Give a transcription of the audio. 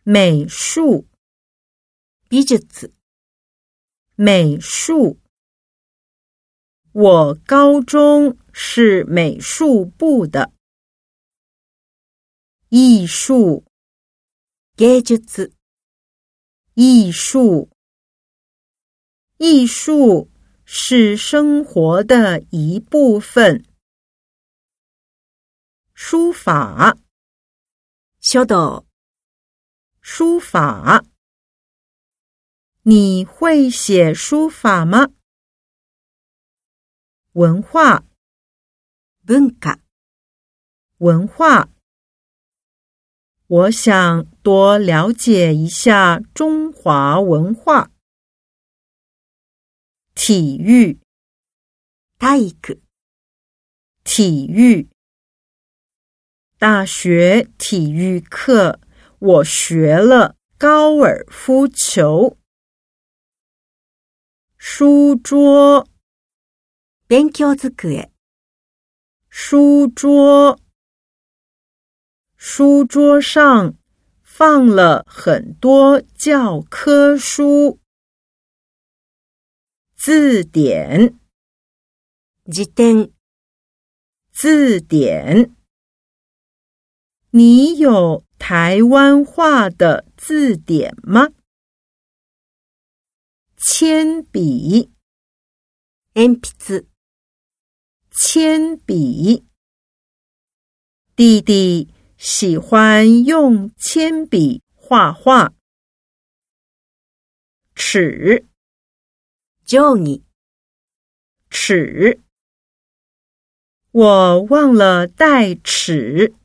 美术美術美术。我高中是美术部的。艺术芸術艺术。艺术是生活的一部分。书法書道书法。你会写书法吗？文化文化文化。我想多了解一下中华文化。体育体育体育。大学体育课我学了高尔夫球。书桌勉強机书桌。书桌上放了很多教科书。字典辞典字典。你有台湾话的字典吗？铅笔鉛筆铅笔。弟弟喜欢用铅笔画画。尺定規尺。我忘了带尺。